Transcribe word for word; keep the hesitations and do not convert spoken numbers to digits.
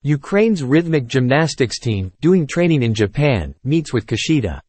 Ukraine's rhythmic gymnastics team, doing training in Japan, meets with Kushida.